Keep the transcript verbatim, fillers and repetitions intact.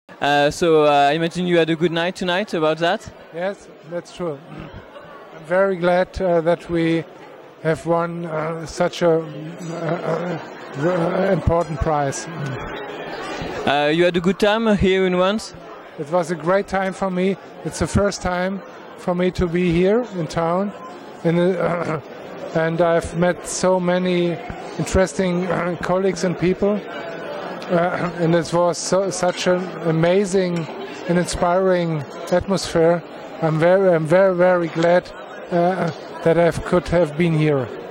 Uh, so uh, I imagine you had a good night tonight about that? Yes, that's true. I'm very glad uh, that we have won uh, such a uh, uh, important prize. Uh, you had a good time here in Wands? It was a great time for me. It's the first time for me to be here in town, in the, uh, and I've met so many interesting uh, colleagues and people. Uh, and it was so, such an amazing and inspiring atmosphere. I'm very, I'm very, very glad uh, that I could have been here.